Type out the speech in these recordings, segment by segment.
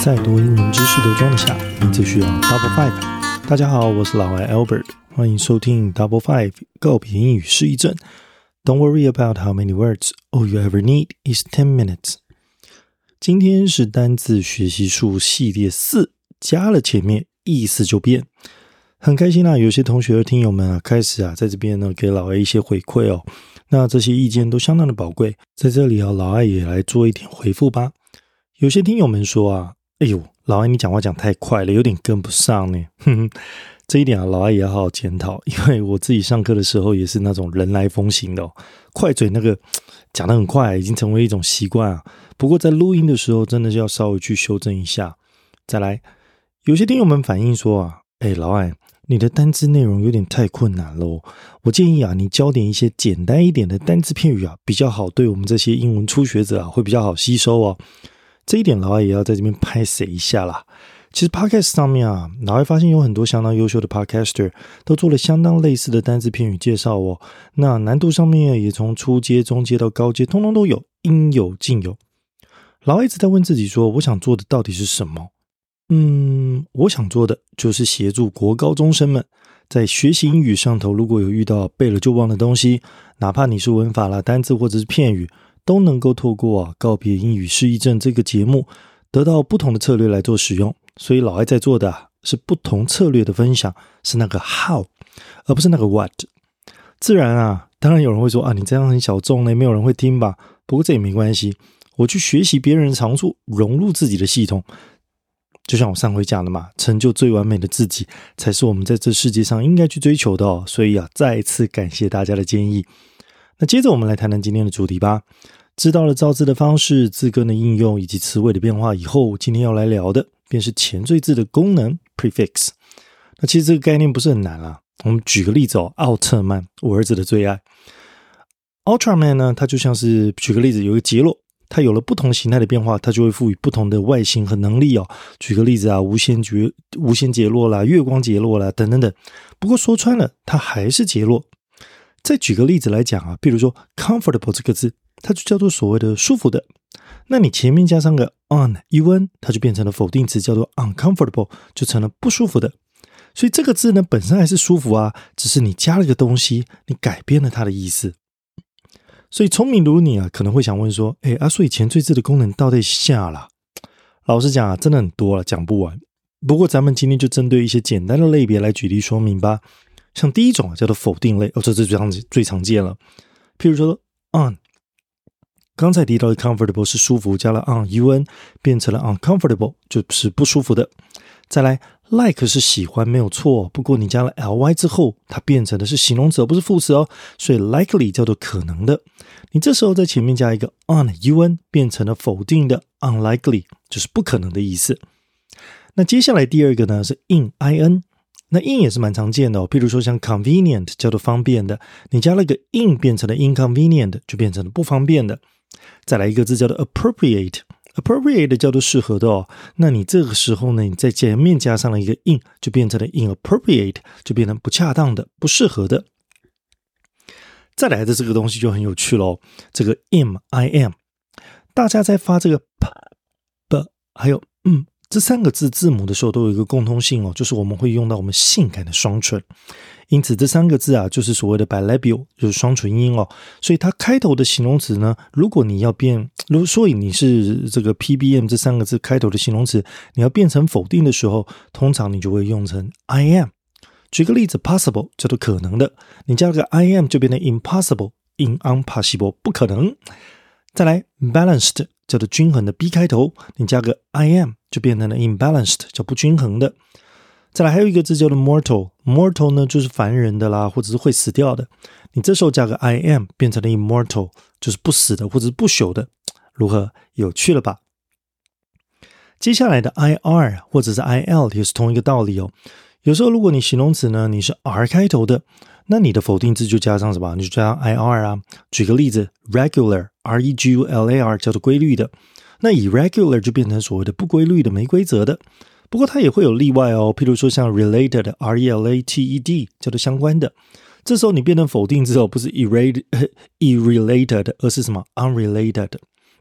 再多英文知识都装得下，你只需要 Double Five。大家好，我是老外 Albert， 欢迎收听 Double Five 告别英语失忆症。Don't worry about how many words, all you ever need is 10 minutes。今天是单字学习术系列4，加了前面意思就变。很开心有些同学听友们开始在这边呢给老外一些回馈哦。那这些意见都相当的宝贵，在这里老外也来做一点回复吧。有些听友们说哎呦，老外你讲话讲太快了，有点跟不上呢。这一点老外也要好好检讨，因为我自己上课的时候也是那种人来疯型的快嘴那个讲得很快，已经成为一种习惯不过在录音的时候真的是要稍微去修正一下。再来，有些听友们反映说老外你的单字内容有点太困难咯，我建议你教点一些简单一点的单字片语比较好，对我们这些英文初学者会比较好吸收哦。这一点老外也要在这边拍谁一下啦。其实 podcast 上面老外发现有很多相当优秀的 podcaster 都做了相当类似的单字片语介绍哦。那难度上面也从初阶、中阶到高阶通通都有，应有尽有。老外一直在问自己说，我想做的到底是什么？我想做的就是协助国高中生们在学习英语上头，如果有遇到背了就忘的东西，哪怕你是文法啦、单字或者是片语，都能够透过告别英语失忆症这个节目得到不同的策略来做使用。所以老外在做的是不同策略的分享，是那个 how 而不是那个 what。 自然当然有人会说你这样很小众呢，没有人会听吧。不过这也没关系，我去学习别人的长处，融入自己的系统，就像我上回讲的嘛，成就最完美的自己才是我们在这世界上应该去追求的所以再一次感谢大家的建议。那接着我们来谈谈今天的主题吧。知道了造字的方式、字根的应用以及词尾的变化以后，今天要来聊的便是前缀字的功能 prefix。 那其实这个概念不是很难我们举个例子奥特曼，我儿子的最爱。 Ultraman 呢，它就像是举个例子，有一个杰洛，它有了不同形态的变化，它就会赋予不同的外形和能力举个例子无限杰洛啦、月光杰洛啦等等等。不过说穿了，它还是杰洛。再举个例子来讲比如说 comfortable 这个字，它就叫做所谓的舒服的。那你前面加上个 un， 它就变成了否定词，叫做 uncomfortable， 就成了不舒服的。所以这个字呢本身还是舒服只是你加了个东西，你改变了它的意思。所以聪明如你可能会想问说所以前缀字的功能到底下了？老实讲真的很多了，讲不完。不过咱们今天就针对一些简单的类别来举例说明吧。像第一种叫做否定类这是最常见了。譬如说 on， 刚才提到的 comfortable 是舒服，加了 un 变成了 uncomfortable， 就是不舒服的。再来 like 是喜欢，没有错，不过你加了 ly 之后，它变成的是形容词而不是副词所以 likely 叫做可能的。你这时候在前面加一个 un 变成了否定的 unlikely， 就是不可能的意思。那接下来第二个呢是 in。那 in 也是蛮常见的譬如说像 convenient 叫做方便的，你加了个 in 变成了 inconvenient， 就变成了不方便的。再来一个字叫做 appropriate 叫做适合的那你这个时候呢，你在前面加上了一个 in， 就变成了 inappropriate， 就变成不恰当的、不适合的。再来的这个东西就很有趣咯，这个 im 大家在发这个 p 还有这三个字字母的时候都有一个共通性就是我们会用到我们性感的双唇。因此这三个字就是所谓的 bilabial， 就是双唇音所以它开头的形容词呢，如果你要变，所以你是这个 PBM 这三个字开头的形容词，你要变成否定的时候，通常你就会用成 I am。 举个例子 possible 叫做可能的，你加个 I am 就变成 impossible， impossible 不可能。再来 balanced 叫做均衡的 B 开头，你加个 I am 就变成了 imbalanced， 叫不均衡的。再来还有一个字叫做 mortal 呢就是凡人的啦，或者是会死掉的，你这时候加个 I am 变成了 immortal， 就是不死的或者是不朽的。如何？有趣了吧？接下来的 IR 或者是 IL 也是同一个道理有时候如果你形容词呢你是 R 开头的，那你的否定字就加上什么？你就加上 IR举个例子 regular regular 叫做规律的，那 irregular 就变成所谓的不规律的、没规则的。不过它也会有例外譬如说像 related related 叫做相关的，这时候你变成否定之后不是 irrelated 而是什么 unrelated，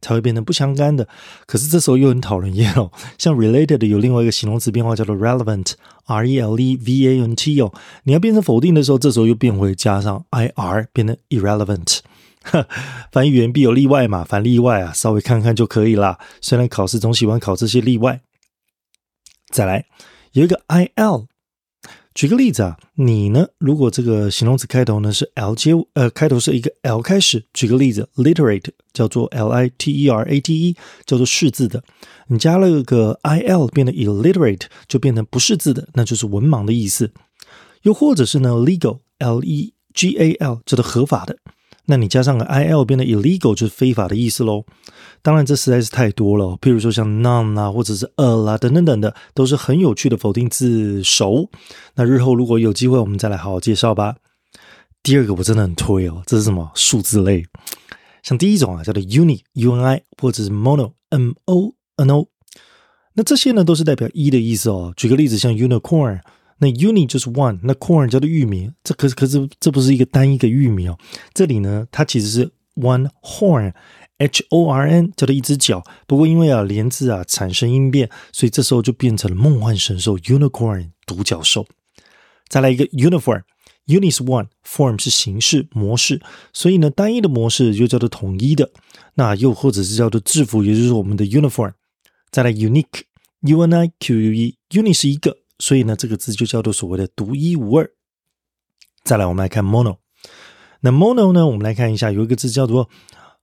才会变成不相干的。可是这时候又很讨人厌哦，像 related 有另外一个形容词变化叫做 relevant R-E-L-E-V-A-N-T 哦，你要变成否定的时候，这时候又变回加上 IR 变成 irrelevant。凡语言必有例外嘛，凡例外啊稍微看看就可以啦，虽然考试总喜欢考这些例外。再来有一个 IL， 举个例子啊，你呢如果这个形容词开头呢是 L 开头是一个 L 开始，举个例子 literate 叫做 L-I-T-E-R-A-T-E 叫做识字的，你加了个 IL 变得 illiterate 就变成不识字的，那就是文盲的意思。又或者是呢 legal L-E-G-A-L 叫做合法的，那你加上个 IL 变得 illegal 就是非法的意思咯。当然这实在是太多了，譬如说像 none 啊或者是 a 啦等等等的，都是很有趣的否定字首。那日后如果有机会我们再来好好介绍吧。第二个我真的很推哦，这是什么？数字类。像第一种啊叫做 uni U-N-I 或者是 mono M-O-N-O， 那这些呢都是代表一的意思哦。举个例子像 unicorn，那 uni 就是 one， 那 corn 叫做玉米，可是这不是一个单一个玉米哦，这里呢它其实是 one horn H-O-R-N 叫做一只脚，不过因为啊连字啊产生音变，所以这时候就变成了梦幻神兽 unicorn 独角兽。再来一个 uniform Uni 是 one， form 是形式模式，所以呢单一的模式就叫做统一的，那又或者是叫做制服，也就是我们的 uniform。再来 unique U-N-I-Q-U-E Uni 是一个，所以呢这个字就叫做所谓的独一无二。再来我们来看 mono， 那 mono 呢我们来看一下，有一个字叫做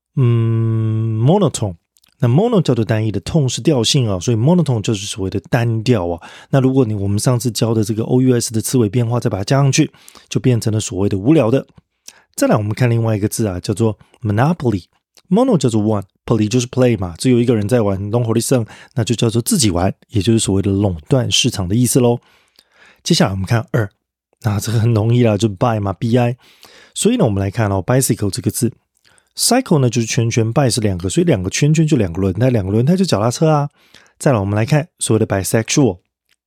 monotone， 那 mono 叫做单一的，tone 是调性啊，所以 monotone 就是所谓的单调啊。那如果我们上次教的这个 OUS 的词尾变化再把它加上去，就变成了所谓的无聊的。再来我们看另外一个字啊，叫做 monopoly， mono 叫做 one， poly 就是 play 嘛，只有一个人在玩 long holy song， 那就叫做自己玩，也就是所谓的垄断市场的意思咯。接下来我们看二，那这个很容易啦，就 buy 嘛 bi， 所以呢我们来看哦 bicycle 这个字，cycle 呢就是圈圈， by 是两个，所以两个圈圈就两个轮胎，两个轮胎就脚踏车啊。再来我们来看所谓的 bisexual，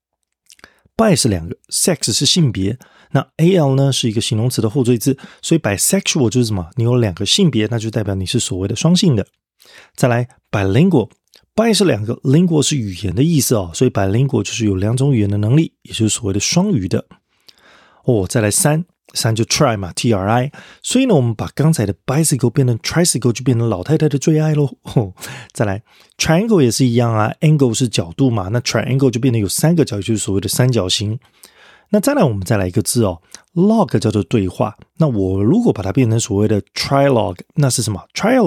by 是两个， sex 是性别，那 al 呢是一个形容词的后缀字，所以 bisexual 就是什么？你有两个性别，那就代表你是所谓的双性的。再来 bilingual， by 是两个， lingual 是语言的意思哦，所以 bilingual 就是有两种语言的能力，也就是所谓的双语的。再来三就 try 嘛 T-R-I， 所以呢我们把刚才的 bicycle 变成 tricycle 就变成老太太的最爱咯。再来 triangle 也是一样啊， angle 是角度嘛，那 triangle 就变得有三个角，也就是所谓的三角形。那再来我们再来一个字哦 log 叫做对话，那我如果把它变成所谓的 trilogue， 那是什么？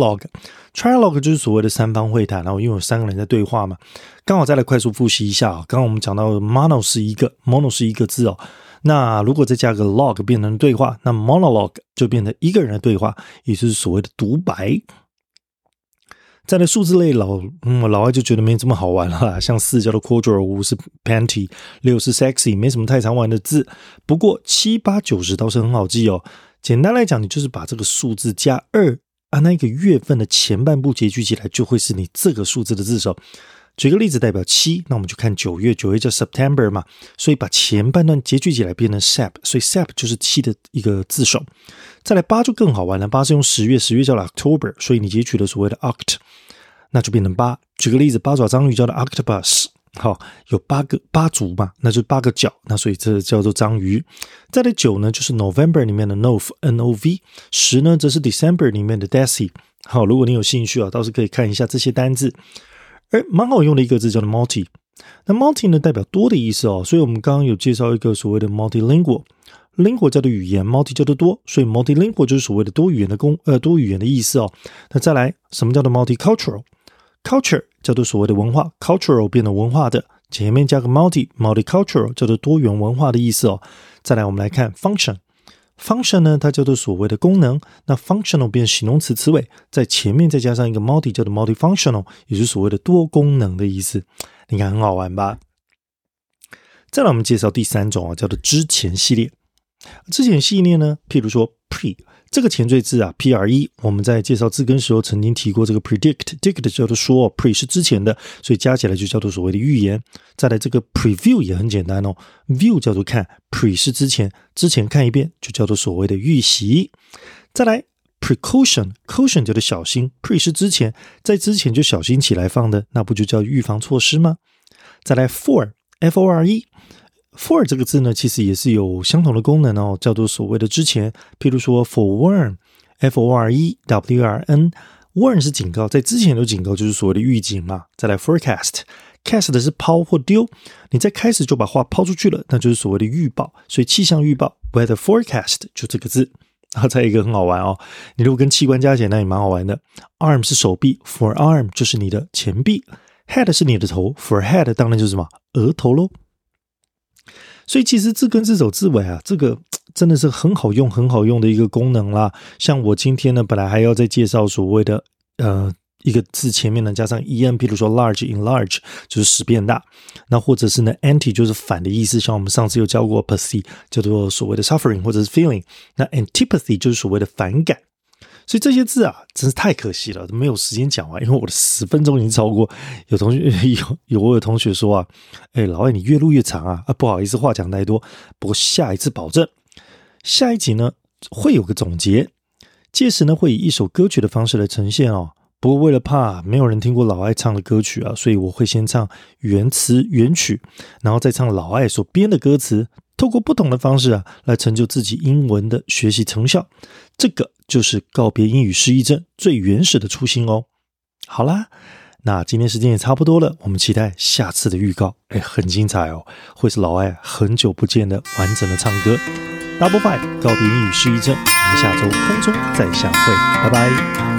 trilogue 就是所谓的三方会谈，然后因为有三个人在对话嘛。刚好再来快速复习一下刚刚我们讲到 mono 是一个字哦，那如果再加个 log 变成对话，那 monologue 就变成一个人的对话，也就是所谓的独白。再来数字类老外就觉得没这么好玩了，像4叫做 corduroy， 5是 panty， 6是 sexy， 没什么太常玩的字。不过7、8、9、10倒是很好记哦。简单来讲，你就是把这个数字加2那一个月份的前半部结聚起来，就会是你这个数字的字首。举个例子代表7，那我们就看9月，9月叫 September 嘛，所以把前半段结聚起来变成 Sep， 所以 Sep 就是7的一个字首。再来8就更好玩了，8是用10月，10月叫 October， 所以你截取了所谓的 Oct， 那就变成8。举个例子，八爪章鱼叫做 Octopus， 有8足嘛，那就8个脚，那所以这叫做章鱼。再来9呢就是 November 里面的 Nov N-O-V， 10呢则是 December 里面的 Deci。 如果你有兴趣倒是可以看一下这些单字。而蛮好用的一个字叫做 multi， 那 multi 呢代表多的意思所以我们刚刚有介绍一个所谓的 multilingual， lingual 叫做语言， multi 叫做多，所以 multilingual 就是所谓的多语言的意思那再来什么叫做 multicultural， culture 叫做所谓的文化， cultural 变成文化的，前面加个 multicultural 叫做多元文化的意思再来我们来看 function呢它叫做所谓的功能，那 functional 变形容词词尾，在前面再加上一个 multi 叫做 multifunctional， 也就是所谓的多功能的意思。你看很好玩吧？再来我们介绍第3种叫做之前系列。之前系列呢，譬如说 pre 这个前缀字pre， 我们在介绍字根时候曾经提过这个 predict 叫做说pre 是之前的，所以加起来就叫做所谓的预言。再来这个 preview 也很简单view 叫做看， pre 是之前看一遍就叫做所谓的预习。再来 precaution 就是小心 pre 是之前，在之前就小心起来放的，那不就叫预防措施吗？再来 for F-O-R-E for 这个字呢，其实也是有相同的功能哦，叫做所谓的之前，譬如说 forewarn F-O-R-E-W-R-N warn 是警告，在之前有警告，就是所谓的预警嘛。再来 forecast cast 的是抛或丢，你在开始就把话抛出去了，那就是所谓的预报，所以气象预报 weather forecast 就这个字。然后再一个很好玩哦，你如果跟器官加起来，那也蛮好玩的。arm 是手臂 forearm 就是你的前臂， head 是你的头 forehead 当然就是什么额头咯。所以其实字根字首字尾啊，这个真的是很好用的一个功能啦。像我今天呢，本来还要再介绍所谓的一个字前面呢加上 en， 譬如说 large enlarge 就是使变大，那或者是呢 anti 就是反的意思，像我们上次有教过 apathy 叫做所谓的 suffering 或者是 feeling， 那 antipathy 就是所谓的反感。所以这些字啊真是太可惜了，没有时间讲完，因为我的10分钟已经超过。有同学说啊，老外你越录越长啊，不好意思话讲太多，不过下一次保证，下一集呢会有个总结，届时呢会以一首歌曲的方式来呈现哦。不过为了怕没有人听过老爱唱的歌曲啊，所以我会先唱原词原曲，然后再唱老爱所编的歌词，透过不同的方式啊，来成就自己英文的学习成效。这个就是告别英语失忆症最原始的初心哦。好啦，那今天时间也差不多了，我们期待下次的预告，很精彩哦，会是老爱很久不见的完整的唱歌。Double Five 告别英语失忆症，我们下周空中再相会，拜拜。